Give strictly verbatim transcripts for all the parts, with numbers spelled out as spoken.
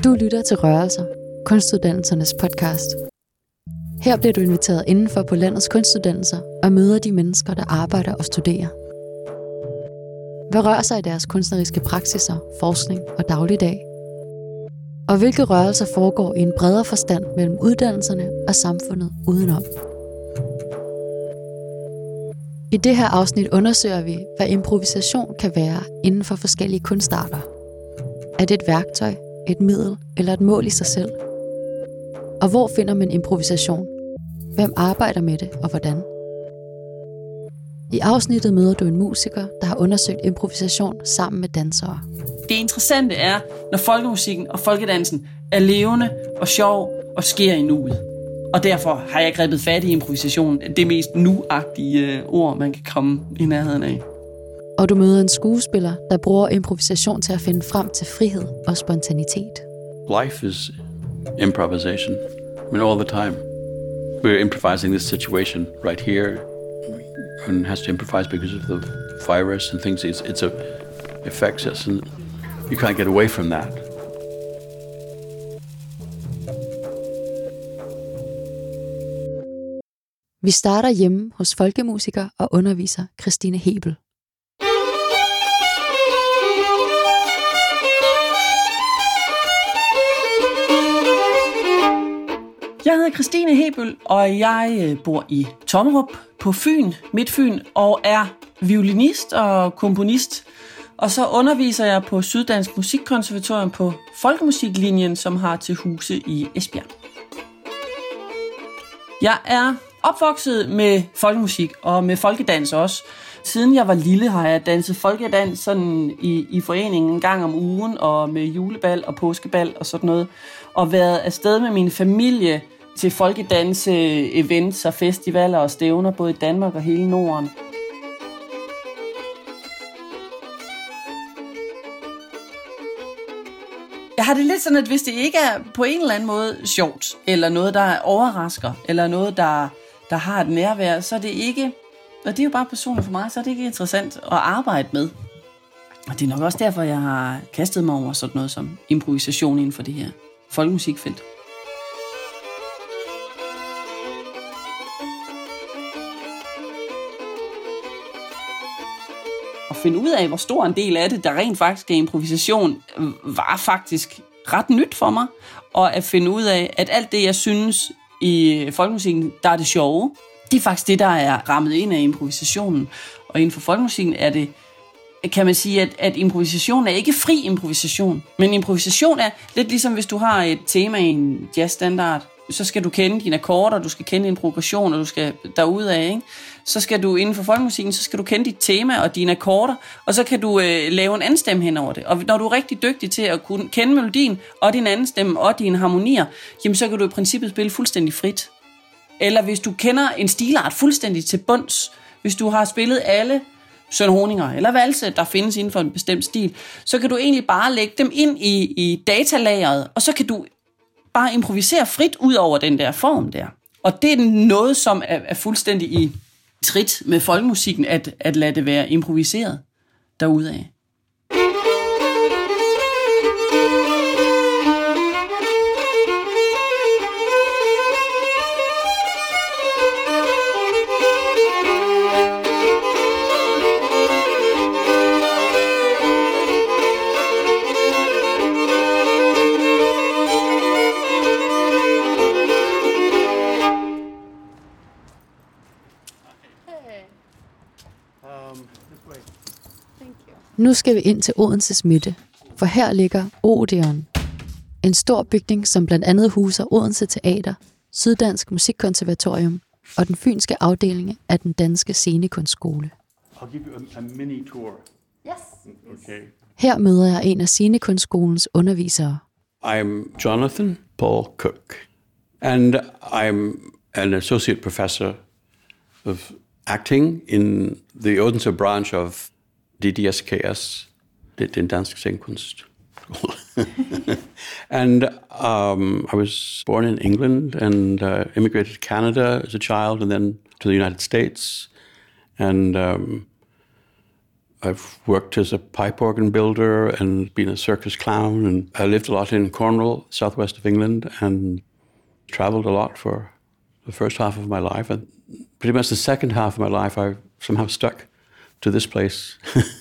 Du lytter til Rørelser, kunstuddannelsernes podcast. Her bliver du inviteret indenfor på landets kunstuddannelser og møder de mennesker, der arbejder og studerer. Hvad rører sig i deres kunstneriske praksiser, forskning og dagligdag? Og hvilke rørelser foregår i en bredere forstand mellem uddannelserne og samfundet udenom? I det her afsnit undersøger vi, hvad improvisation kan være inden for forskellige kunstarter. Er det et værktøj, et middel eller et mål i sig selv? Og hvor finder man improvisation? Hvem arbejder med det og hvordan? I afsnittet møder du en musiker, der har undersøgt improvisation sammen med dansere. Det interessante er, når folkemusikken og folkedansen er levende og sjov og sker i nuet. Og derfor har jeg grebet fat i improvisation, det mest nu-agtige ord, man kan komme i nærheden af. Og du møder en skuespiller, der bruger improvisation til at finde frem til frihed og spontanitet. Life is improvisation. I mean, all the time. We're improvising this situation right here. And has to improvise because of the virus and things. It's, it's a affects us, and you can't get away from that. Vi starter hjemme hos folkemusiker og underviser Christine Hebel. Jeg hedder Christine Hebel, og jeg bor i Tommerup på Fyn, Midtfyn, og er violinist og komponist. Og så underviser jeg på Syddansk Musikkonservatorium på folkemusiklinjen, som har til huse i Esbjerg. Jeg er opvokset med folkemusik og med folkedans også. Siden jeg var lille har jeg danset folkedans sådan i, i foreningen en gang om ugen, og med julebal og påskebal og sådan noget. Og været afsted med min familie til folkedanse-events og festivaler og stævner, både i Danmark og hele Norden. Jeg har det lidt sådan, at hvis det ikke er på en eller anden måde sjovt, eller noget, der overrasker, eller noget, der, der har et nærvær, så er det ikke, og det er jo bare personligt for mig, så er det ikke interessant at arbejde med. Og det er nok også derfor, jeg har kastet mig over sådan noget som improvisation inden for det her folkemusikfelt. At finde ud af, hvor stor en del af det, der rent faktisk er improvisation, var faktisk ret nyt for mig. Og at finde ud af, at alt det, jeg synes i folkemusikken, der er det sjove, det er faktisk det, der er rammet ind af improvisationen. Og inden for folkemusikken er det, kan man sige, at, at improvisation er ikke fri improvisation. Men improvisation er lidt ligesom, hvis du har et tema i en jazzstandard, så skal du kende dine akkorder, du skal kende din progression, og du skal derudad, ikke? Så skal du inden for folkemusikken, så skal du kende dit tema og dine akkorder, og så kan du øh, lave en anden stemme hen over det. Og når du er rigtig dygtig til at kunne kende melodien, og din anden stemme, og dine harmonier, jamen så kan du i princippet spille fuldstændig frit. Eller hvis du kender en stilart fuldstændig til bunds, hvis du har spillet alle sønhoninger eller valse, der findes inden for en bestemt stil, så kan du egentlig bare lægge dem ind i, i datalageret, og så kan du bare improvisere frit ud over den der form der. Og det er noget, som er, er fuldstændig i trit med folkemusikken, at, at lade det være improviseret derudad. Nu skal vi ind til Odenses midte, for her ligger Odeon. En stor bygning, som blandt andet huser Odense Teater, Syddansk Musikkonservatorium og den fynske afdeling af den danske scenekunstskole. I'll give you a, a mini tour. Yes. Okay. Her møder jeg en af scenekunstskolens undervisere. I'm Jonathan Paul Cook, and I'm an associate professor of acting in the Odense branch of D D S K S, den danske scenekunstskole. And um, I was born in England and uh, immigrated to Canada as a child and then to the United States. And um, I've worked as a pipe organ builder and been a circus clown, and I lived a lot in Cornwall, southwest of England, and traveled a lot for the first half of my life. And pretty much the second half of my life, I somehow stuck to this place.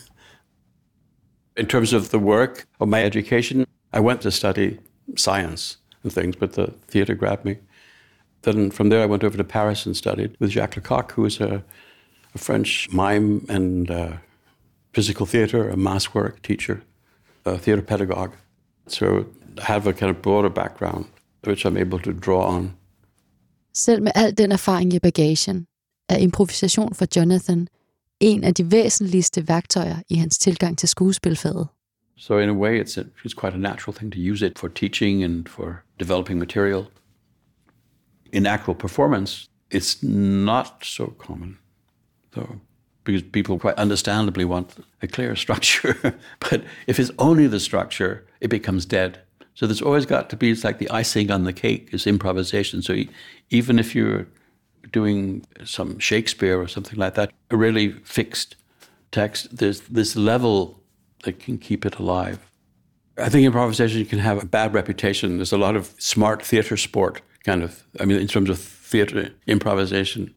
In terms of the work of my education, I went to study science and things, but the theatre grabbed me. Then from there, I went over to Paris and studied with Jacques Lecoq, who was a, a French mime and uh, physical theatre, a mass work teacher, a theatre pedagogue. So I have a kind of broader background, which I'm able to draw on. Selv med al den erfaring i bagagen, er improvisation for Jonathan en af de væsentligste værktøjer i hans tilgang til skuespilfaget. So in a way, it's, a, it's quite a natural thing to use it for teaching and for developing material. In actual performance, it's not so common, though, because people quite understandably want a clear structure. But if it's only the structure, it becomes dead. So there's always got to be, it's like the icing on the cake is improvisation. So even if you're doing some Shakespeare or something like that, a really fixed text, there's this level that can keep it alive. I think improvisation can have a bad reputation. There's a lot of smart theatre sport, kind of, I mean, in terms of theatre improvisation,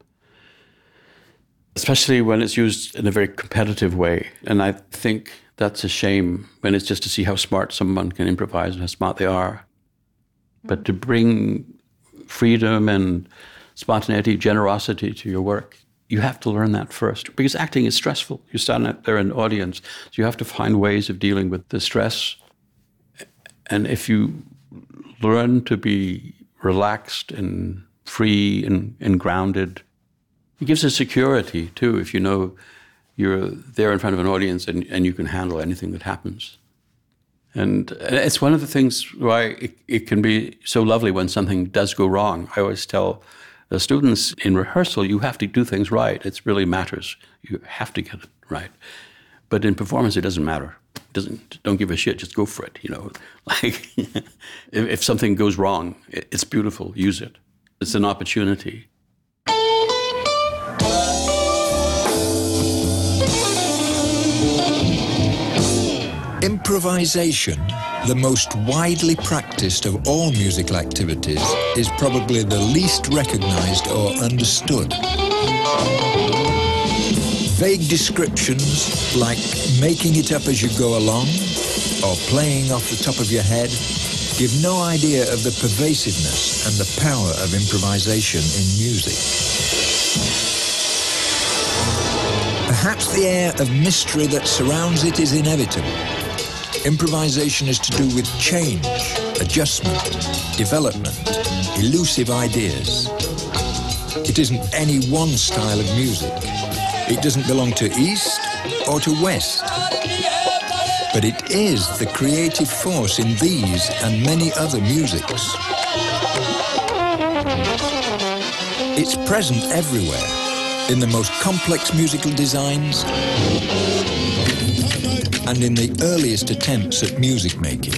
especially when it's used in a very competitive way. And I think that's a shame when it's just to see how smart someone can improvise and how smart they are. But to bring freedom and spontaneity, generosity to your work, you have to learn that first, because acting is stressful. You're standing out there in an audience, so you have to find ways of dealing with the stress. And if you learn to be relaxed and free and, and grounded, it gives a security too, if you know you're there in front of an audience and, and you can handle anything that happens. And it's one of the things why it, it can be so lovely when something does go wrong. I always tell the students in rehearsal, you have to do things right. It really matters. You have to get it right. But in performance, it doesn't matter. It doesn't. Don't give a shit. Just go for it. You know, like if, if something goes wrong, it's beautiful. Use it. It's an opportunity. Improvisation, the most widely practiced of all musical activities, is probably the least recognized or understood. Vague descriptions like making it up as you go along or playing off the top of your head give no idea of the pervasiveness and the power of improvisation in music. Perhaps the air of mystery that surrounds it is inevitable. Improvisation is to do with change, adjustment, development, elusive ideas. It isn't any one style of music. It doesn't belong to East or to West. But it is the creative force in these and many other musics. It's present everywhere, in the most complex musical designs and in the earliest attempts at music making.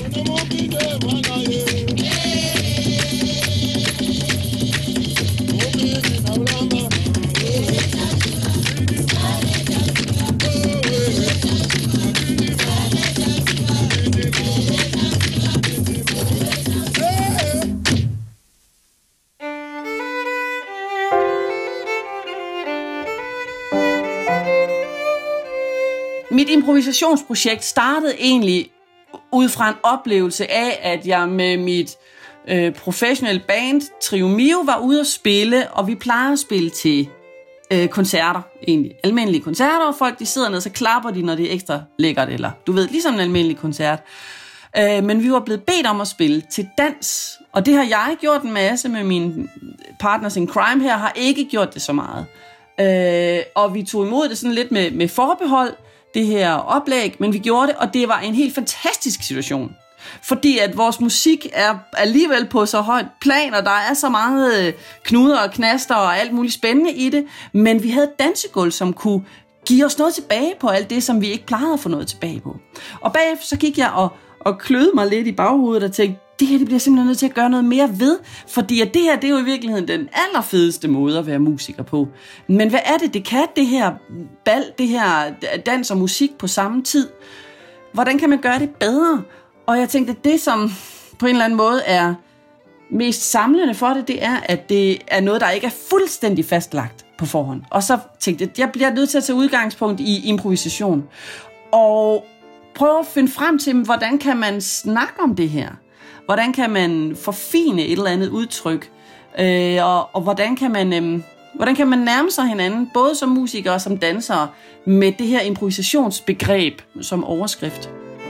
Mit improvisationsprojekt startede egentlig ud fra en oplevelse af, at jeg med mit øh, professionelle band Trio Mio var ude at spille, og vi plejer at spille til øh, koncerter, egentlig almindelige koncerter, og folk de sidder ned, så klapper de, når det er ekstra lækkert, eller du ved, ligesom en almindelig koncert. Øh, men vi var blevet bedt om at spille til dans, og det har jeg gjort en masse med mine partners in crime her, har ikke gjort det så meget. Øh, og vi tog imod det sådan lidt med, med forbehold, det her oplæg, men vi gjorde det, og det var en helt fantastisk situation. Fordi at vores musik er alligevel på så højt plan, og der er så meget knuder og knaster og alt muligt spændende i det, men vi havde et dansegulv, som kunne give os noget tilbage på alt det, som vi ikke plejede at få noget tilbage på. Og bagefter så gik jeg og, og kløede mig lidt i baghovedet og tænkte, det her det bliver simpelthen nødt til at gøre noget mere ved, fordi at det her, det er jo i virkeligheden den allerfedeste måde at være musiker på. Men hvad er det, det kan, det her bal, det her dans og musik på samme tid? Hvordan kan man gøre det bedre? Og jeg tænkte, at det, som på en eller anden måde er mest samlende for det, det er, at det er noget, der ikke er fuldstændig fastlagt på forhånd. Og så tænkte jeg, at jeg bliver nødt til at tage udgangspunkt i improvisation. Og prøve at finde frem til, hvordan kan man snakke om det her? Hvordan kan man forfine et eller andet udtryk? Øh, og, og hvordan kan man... Øh, Hvordan kan man nærme sig hinanden, både som musikere og som dansere, med det her improvisationsbegreb som overskrift?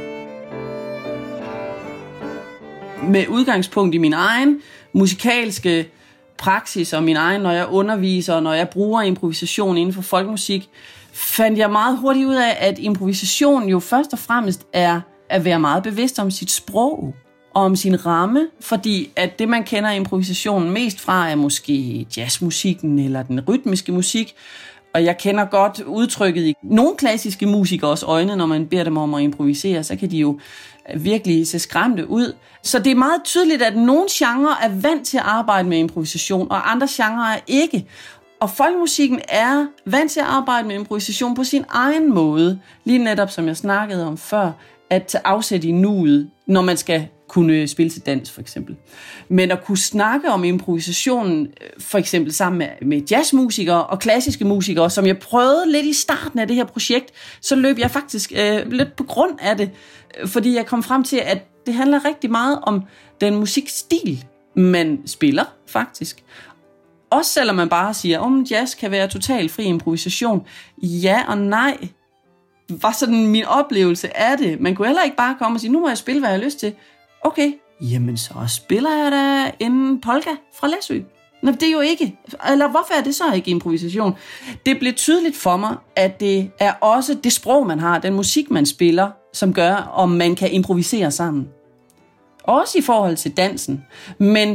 Med udgangspunkt i min egen musikalske praksis og min egen, når jeg underviser og når jeg bruger improvisation inden for folkemusik, fandt jeg meget hurtigt ud af, at improvisation jo først og fremmest er at være meget bevidst om sit sprog og om sin ramme, fordi at det, man kender improvisationen mest fra, er måske jazzmusikken eller den rytmiske musik, og jeg kender godt udtrykket i nogle klassiske musikers øjne, når man beder dem om at improvisere, så kan de jo virkelig se skræmte ud. Så det er meget tydeligt, at nogle genrer er vant til at arbejde med improvisation, og andre genrer er ikke. Og folkemusikken er vant til at arbejde med improvisation på sin egen måde, lige netop som jeg snakkede om før, at tage afsæt i nuet, når man skal kunne spille til dans, for eksempel. Men at kunne snakke om improvisationen, for eksempel sammen med, med jazzmusikere og klassiske musikere, som jeg prøvede lidt i starten af det her projekt, så løb jeg faktisk øh, lidt på grund af det, fordi jeg kom frem til, at det handler rigtig meget om den musikstil, man spiller, faktisk. Også selvom man bare siger, om oh, jazz kan være totalt fri improvisation. Ja og nej, var sådan min oplevelse af det. Man kunne heller ikke bare komme og sige, nu må jeg spille, hvad jeg har lyst til. Okay, jamen så spiller jeg da en polka fra Læsø. Nå, det er jo ikke. Eller hvorfor er det så ikke improvisation? Det blev tydeligt for mig, at det er også det sprog, man har, den musik, man spiller, som gør, om man kan improvisere sammen. Også i forhold til dansen. Men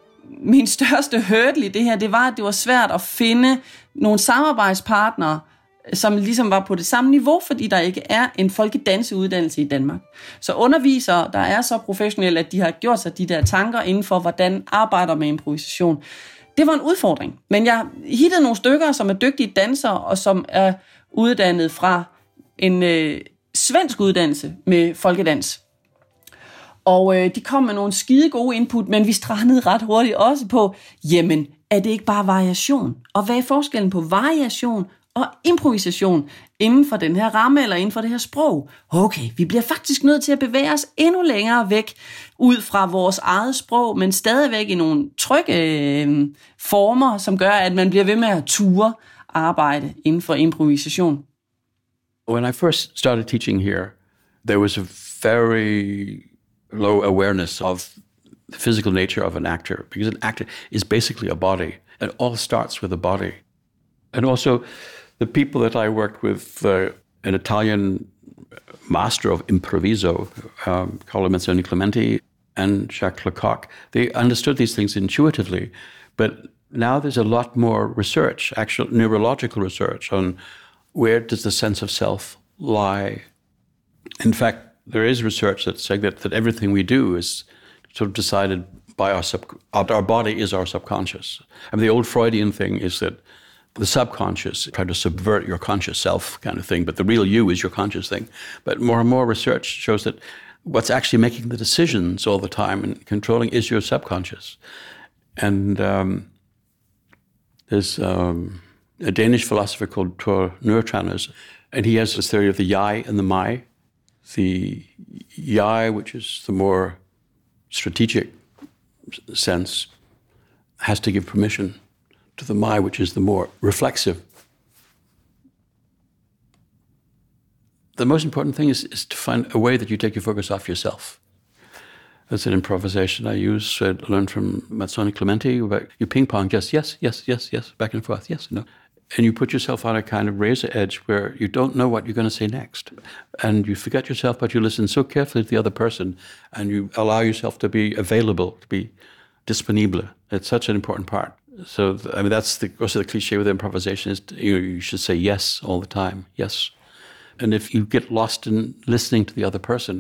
min største hurdle i det her, det var, at det var svært at finde nogle samarbejdspartnere, som ligesom var på det samme niveau, fordi der ikke er en folkedanseuddannelse i Danmark. Så undervisere, der er så professionelle, at de har gjort sig de der tanker inden for, hvordan arbejder med improvisation. Det var en udfordring, men jeg hittede nogle stykker, som er dygtige dansere, og som er uddannet fra en øh, svensk uddannelse med folkedans. Og øh, de kom med nogle skide gode input, men vi strandede ret hurtigt også på, jamen, er det ikke bare variation? Og hvad er forskellen på variation og improvisation inden for den her ramme eller inden for det her sprog? Okay, vi bliver faktisk nødt til at bevæge os endnu længere væk ud fra vores eget sprog, men stadigvæk i nogle trygge øh, former, som gør, at man bliver ved med at ture arbejde inden for improvisation. When I first started teaching here, there was a very low awareness of the physical nature of an actor, because an actor is basically a body. It all starts with a body. And also, the people that I worked with, uh, an Italian master of improviso, um, Carlo Mazzoni Clementi and Jacques Lecoq, they understood these things intuitively. But now there's a lot more research, actual neurological research, on where does the sense of self lie. In fact, there is research that's saying that, that everything we do is sort of decided by our sub, our body is our subconscious. I mean, the old Freudian thing is that the subconscious try to subvert your conscious self kind of thing, but the real you is your conscious thing. But more and more research shows that what's actually making the decisions all the time and controlling is your subconscious. And um, there's um, a Danish philosopher called Tor Nørretranders, and he has this theory of the jeg and the mig. The jeg, which is the more strategic sense, has to give permission to the my, which is the more reflexive. The most important thing is, is to find a way that you take your focus off yourself. That's an improvisation I use, I learned from Mazzoni Clementi, about you ping pong, just yes, yes, yes, yes, back and forth, yes, no. And you put yourself on a kind of razor edge where you don't know what you're going to say next. And you forget yourself, but you listen so carefully to the other person, and you allow yourself to be available, to be disponible. It's such an important part. So, I mean, that's the, also the cliche with improvisation is, you know, you should say yes all the time, yes. And if you get lost in listening to the other person,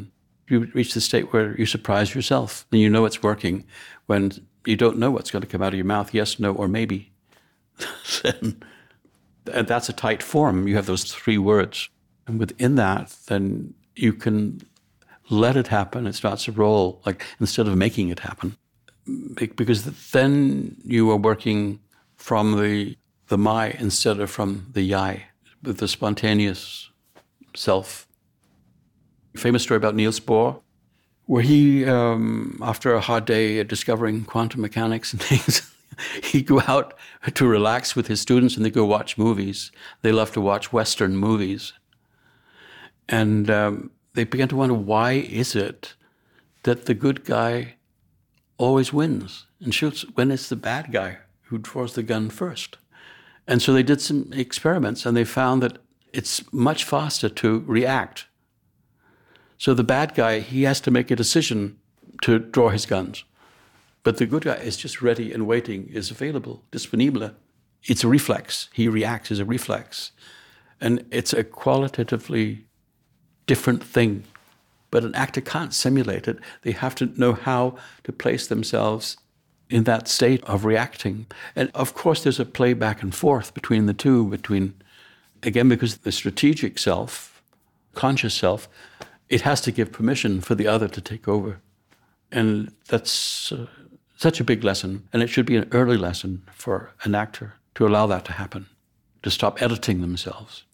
you reach the state where you surprise yourself and you know it's working when you don't know what's going to come out of your mouth, yes, no, or maybe. Then, and that's a tight form. You have those three words. And within that, then you can let it happen. It starts to roll, like instead of making it happen. Because then you are working from the the my instead of from the yai, with the spontaneous self. Famous story about Niels Bohr, where he, um, after a hard day discovering quantum mechanics and things, he'd go out to relax with his students and they go watch movies. They love to watch Western movies. And um, they began to wonder, why is it that the good guy always wins and shoots when it's the bad guy who draws the gun first? And so they did some experiments and they found that it's much faster to react. So the bad guy, he has to make a decision to draw his guns. But the good guy is just ready and waiting, is available, disponible. It's a reflex. He reacts as a reflex. And it's a qualitatively different thing. But an actor can't simulate it. They have to know how to place themselves in that state of reacting. And of course, there's a play back and forth between the two, between, again, because the strategic self, conscious self, it has to give permission for the other to take over. And that's uh, such a big lesson. And it should be an early lesson for an actor to allow that to happen, to stop editing themselves.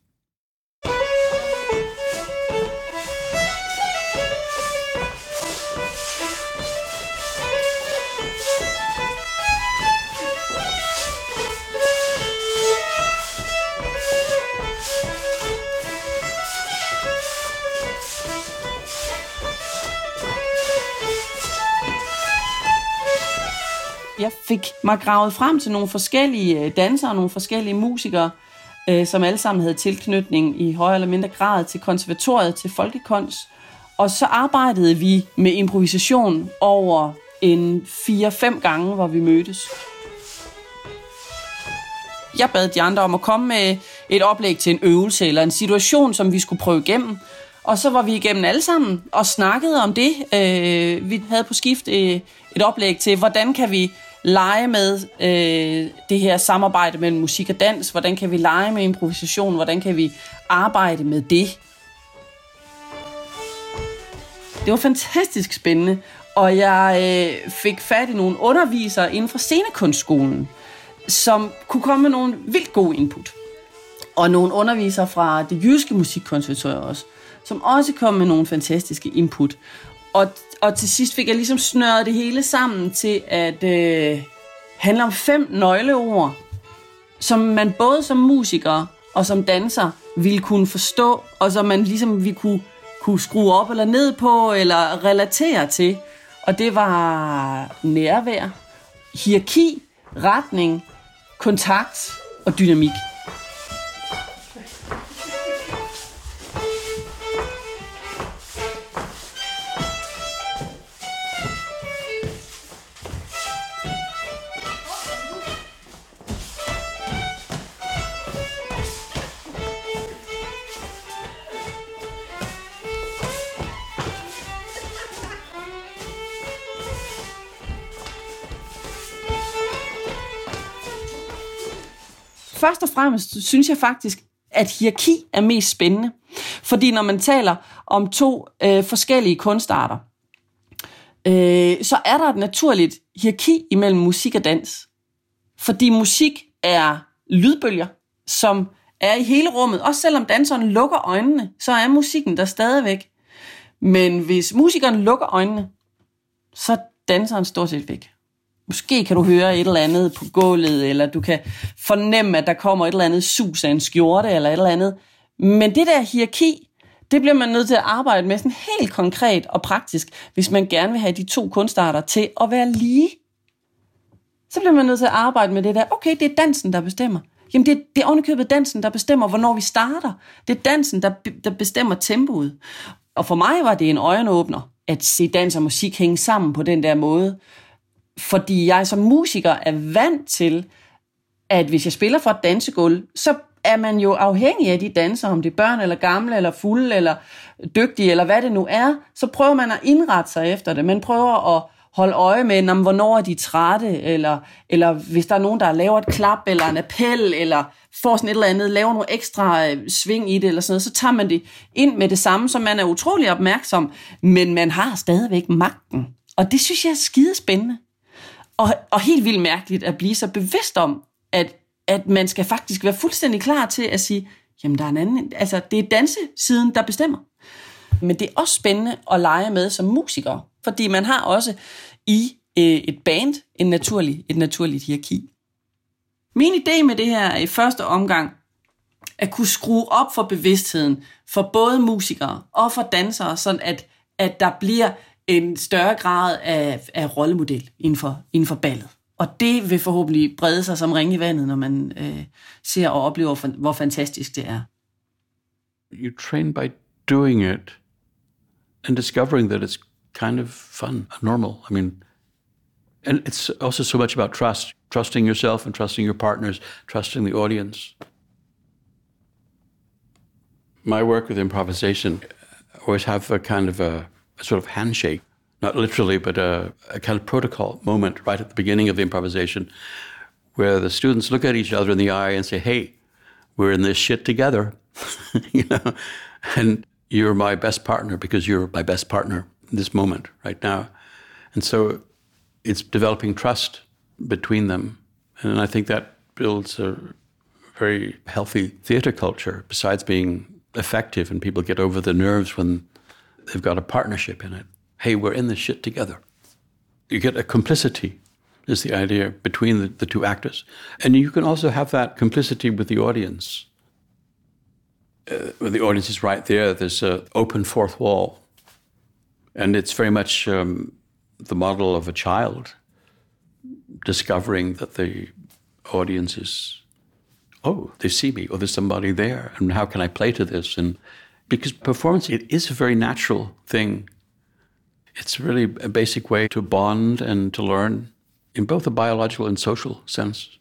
Jeg fik mig gravet frem til nogle forskellige dansere, nogle forskellige musikere, øh, som alle sammen havde tilknytning i højere eller mindre grad til konservatoriet, til folkekunst. Og så arbejdede vi med improvisation over en fire-fem gange, hvor vi mødtes. Jeg bad de andre om at komme med et oplæg til en øvelse eller en situation, som vi skulle prøve igennem. Og så var vi igennem alle sammen og snakkede om det. Øh, vi havde på skift et, et oplæg til, hvordan kan vi lege med øh, det her samarbejde mellem musik og dans? Hvordan kan vi lege med improvisation? Hvordan kan vi arbejde med det? Det var fantastisk spændende, og jeg øh, fik fat i nogle undervisere inden for scenekunstskolen, som kunne komme med nogle vildt gode input. Og nogle undervisere fra det jyske musikkonservatorium også, som også kom med nogle fantastiske input. Og, og til sidst fik jeg ligesom snøret det hele sammen til at øh, handle om fem nøgleord, som man både som musiker og som danser ville kunne forstå, og som man ligesom vi kunne, kunne skrue op eller ned på, eller relatere til. Og det var nærvær, hierarki, retning, kontakt og dynamik. Først og fremmest synes jeg faktisk, at hierarki er mest spændende. Fordi når man taler om to øh, forskellige kunstarter, øh, så er der et naturligt hierarki imellem musik og dans. Fordi musik er lydbølger, som er i hele rummet. Også selvom danseren lukker øjnene, så er musikken der stadigvæk. Men hvis musikeren lukker øjnene, så er danseren stort set væk. Måske kan du høre et eller andet på gulvet, eller du kan fornemme, at der kommer et eller andet sus af en skjorte, eller et eller andet. Men det der hierarki, det bliver man nødt til at arbejde med sådan helt konkret og praktisk, hvis man gerne vil have de to kunstarter til at være lige. Så bliver man nødt til at arbejde med det der, okay, det er dansen, der bestemmer. Jamen, det er, det er ovenikøbet dansen, der bestemmer, hvornår vi starter. Det er dansen, der, der bestemmer tempoet. Og for mig var det en øjenåbner, at se dans og musik hænge sammen på den der måde. Fordi jeg som musiker er vant til, at hvis jeg spiller for et dansegulv, så er man jo afhængig af de dansere, om det er børn eller gamle eller fulde eller dygtige eller hvad det nu er, så prøver man at indrette sig efter det. Man prøver at holde øje med, om, hvornår er de trætte, eller, eller hvis der er nogen, der laver et klap eller en appel, eller får sådan et eller andet, laver nogle ekstra sving i det, eller sådan noget, så tager man det ind med det samme, så man er utrolig opmærksom, men man har stadigvæk magten. Og det synes jeg er skidespændende. Og, og helt vildt mærkeligt at blive så bevidst om, at, at man skal faktisk være fuldstændig klar til at sige, jamen der er en anden, altså det er dansesiden, der bestemmer. Men det er også spændende at lege med som musiker, fordi man har også i øh, et band en naturlig, et naturligt hierarki. Min idé med det her er i første omgang at kunne skrue op for bevidstheden for både musikere og for dansere, sådan at, at der bliver en større grad af, af rollemodel inden for, inden for ballet. Og det vil forhåbentlig brede sig som ringe i vandet, når man øh, ser og oplever, hvor fantastisk det er. You train by doing it and discovering that it's kind of fun and normal. I mean, and it's also so much about trust, trusting yourself and trusting your partners, trusting the audience. My work with improvisation always have a kind of a, a sort of handshake, not literally, but a, a kind of protocol moment right at the beginning of the improvisation where the students look at each other in the eye and say, hey, we're in this shit together, you know, and you're my best partner because you're my best partner in this moment right now. And so it's developing trust between them. And I think that builds a very healthy theater culture, besides being effective and people get over the nerves when they've got a partnership in it. Hey, we're in this shit together. You get a complicity, is the idea, between the, the two actors. And you can also have that complicity with the audience. Uh, when the audience is right there, there's an open fourth wall. And it's very much um, the model of a child discovering that the audience is, oh, they see me, or there's somebody there, and how can I play to this? And because performance, it is a very natural thing. It's really a basic way to bond and to learn in both a biological and social sense.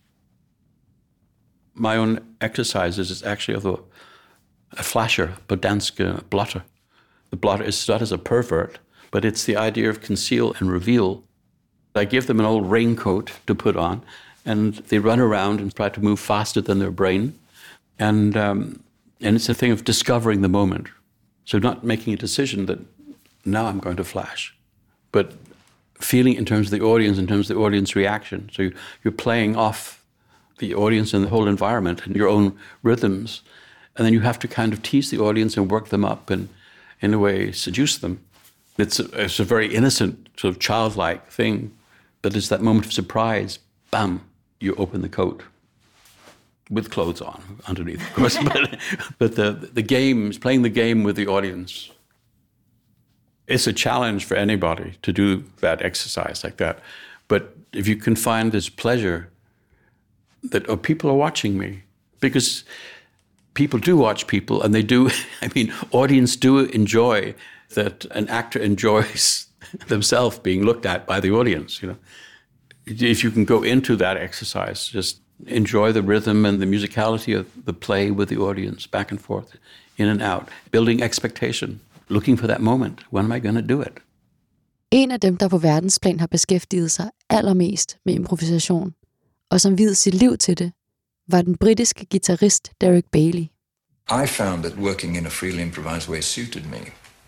My own exercises is actually of a, a flasher, Bodanske blotter. The blotter is not as a pervert, but it's the idea of conceal and reveal. I give them an old raincoat to put on, and they run around and try to move faster than their brain. And um, and it's a thing of discovering the moment. So not making a decision that now I'm going to flash, but feeling in terms of the audience, in terms of the audience reaction. So you're playing off the audience and the whole environment and your own rhythms. And then you have to kind of tease the audience and work them up and, in a way, seduce them. It's a, it's a very innocent, sort of childlike thing, but it's that moment of surprise. Bam, you open the coat. With clothes on underneath, of course. but but the, the game, playing the game with the audience. It's a challenge for anybody to do that exercise like that. But if you can find this pleasure that, oh, people are watching me, because people do watch people, and they do, I mean, audience do enjoy that an actor enjoys themselves being looked at by the audience, you know. If you can go into that exercise, just enjoy the rhythm and the musicality of the play with the audience, back and forth, in and out, building expectation, looking for that moment. When am I going to do it? En af dem, der på verdensplan har beskæftiget sig allermest med improvisation, og som viede sit liv til det, var den britiske guitarist Derek Bailey. I found that working in a freely improvised way suited me.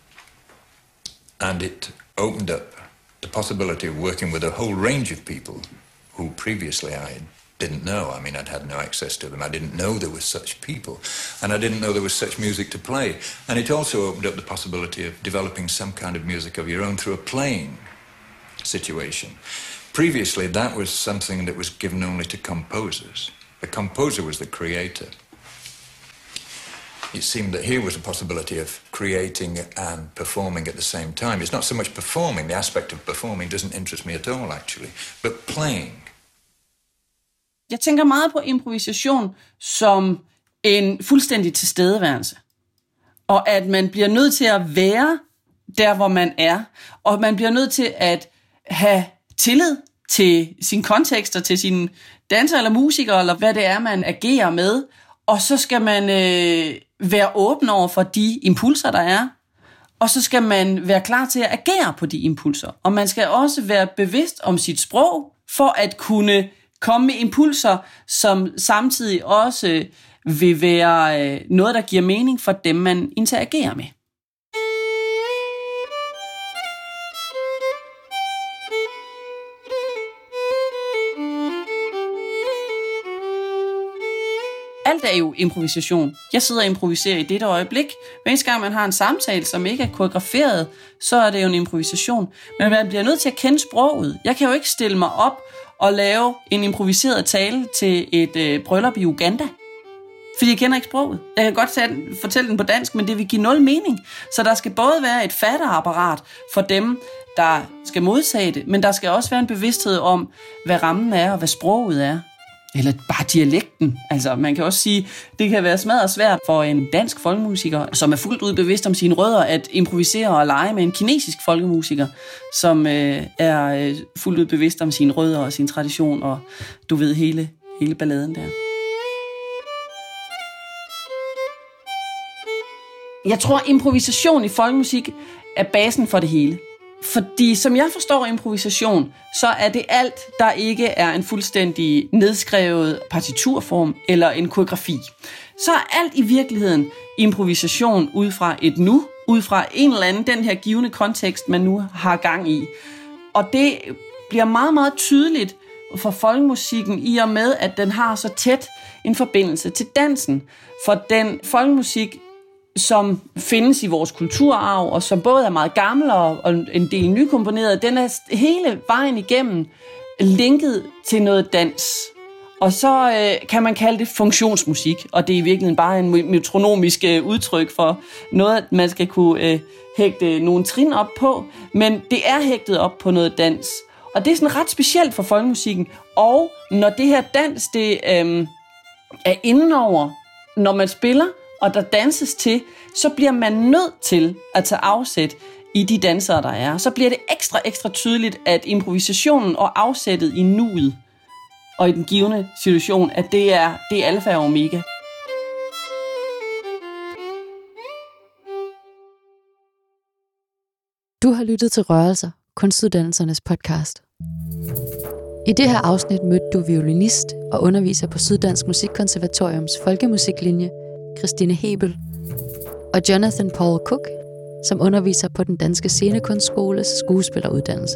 And it opened up the possibility of working with a whole range of people who previously I didn't know. I mean, I'd had no access to them. I didn't know there was such people. And I didn't know there was such music to play. And it also opened up the possibility of developing some kind of music of your own through a playing situation. Previously, that was something that was given only to composers. The composer was the creator. It seemed that here was a possibility of creating and performing at the same time. It's not so much performing. The aspect of performing doesn't interest me at all, actually. But playing. Jeg tænker meget på improvisation som en fuldstændig tilstedeværelse. Og at man bliver nødt til at være der, hvor man er. Og man bliver nødt til at have tillid til sin kontekst og til sine danser eller musikere, eller hvad det er, man agerer med. og så skal man øh, være åben over for de impulser, der er, og så skal man være klar til at agere på de impulser. Og man skal også være bevidst om sit sprog, for at kunne komme med impulser, som samtidig også vil være øh, noget, der giver mening for dem, man interagerer med. Alt er jo improvisation. Jeg sidder og improviserer i dette øjeblik. Hver eneste gang man har en samtale, som ikke er koreograferet, så er det jo en improvisation. Men man bliver nødt til at kende sproget. Jeg kan jo ikke stille mig op og lave en improviseret tale til et øh, bryllup i Uganda. Fordi jeg kender ikke sproget. Jeg kan godt fortælle den på dansk, men det vil give nul mening. Så der skal både være et fatteapparat for dem, der skal modtage det, men der skal også være en bevidsthed om, hvad rammen er og hvad sproget er. Eller bare dialekten. Altså, man kan også sige, det kan være smadret svært for en dansk folkemusiker, som er fuldt ud bevidst om sine rødder, at improvisere og lege med en kinesisk folkemusiker, som øh, er øh, fuldt ud bevidst om sine rødder og sin tradition, og du ved hele, hele balladen der. Jeg tror, improvisation i folkemusik er basen for det hele. Fordi som jeg forstår improvisation, så er det alt, der ikke er en fuldstændig nedskrevet partiturform eller en koreografi. Så er alt i virkeligheden improvisation ud fra et nu, ud fra en eller anden, den her givende kontekst, man nu har gang i. Og det bliver meget, meget tydeligt for folkemusikken i og med, at den har så tæt en forbindelse til dansen. For den folkemusik, som findes i vores kulturarv, og som både er meget gammel og en del nykomponeret, den er hele vejen igennem linket til noget dans. Og så øh, kan man kalde det funktionsmusik, og det er i virkeligheden bare en metronomisk øh, udtryk for noget, man skal kunne øh, hægte nogle trin op på, men det er hægtet op på noget dans. Og det er sådan ret specielt for folkemusikken, og når det her dans, det øh, er indenover, når man spiller, og der danses til, så bliver man nødt til at tage afsæt i de dansere, der er. Så bliver det ekstra, ekstra tydeligt, at improvisationen og afsættet i nuet og i den givende situation, at det er, det er alfa og omega. Du har lyttet til Rørelser, Kunstuddannelsernes podcast. I det her afsnit mødte du violinist og underviser på Syddansk Musikkonservatoriums folkemusiklinje, Christine Hebel, og Jonathan Paul Cook, som underviser på den danske scenekunstskoles skuespilleruddannelse.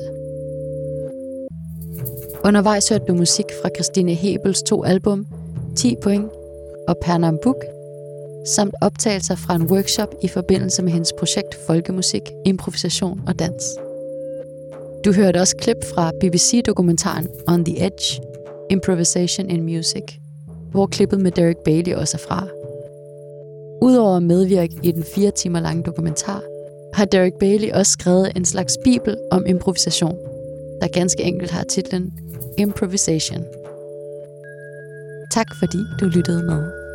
Undervejs hørte du musik fra Christine Hebels to album, ti point og Pernambuk, samt optagelser fra en workshop i forbindelse med hendes projekt Folkemusik, Improvisation og Dans. Du hørte også klip fra B B C-dokumentaren On the Edge, Improvisation in Music, hvor klippet med Derek Bailey også er fra. Udover at medvirke i den fire timer lange dokumentar, har Derek Bailey også skrevet en slags bibel om improvisation, der ganske enkelt har titlen Improvisation. Tak fordi du lyttede med.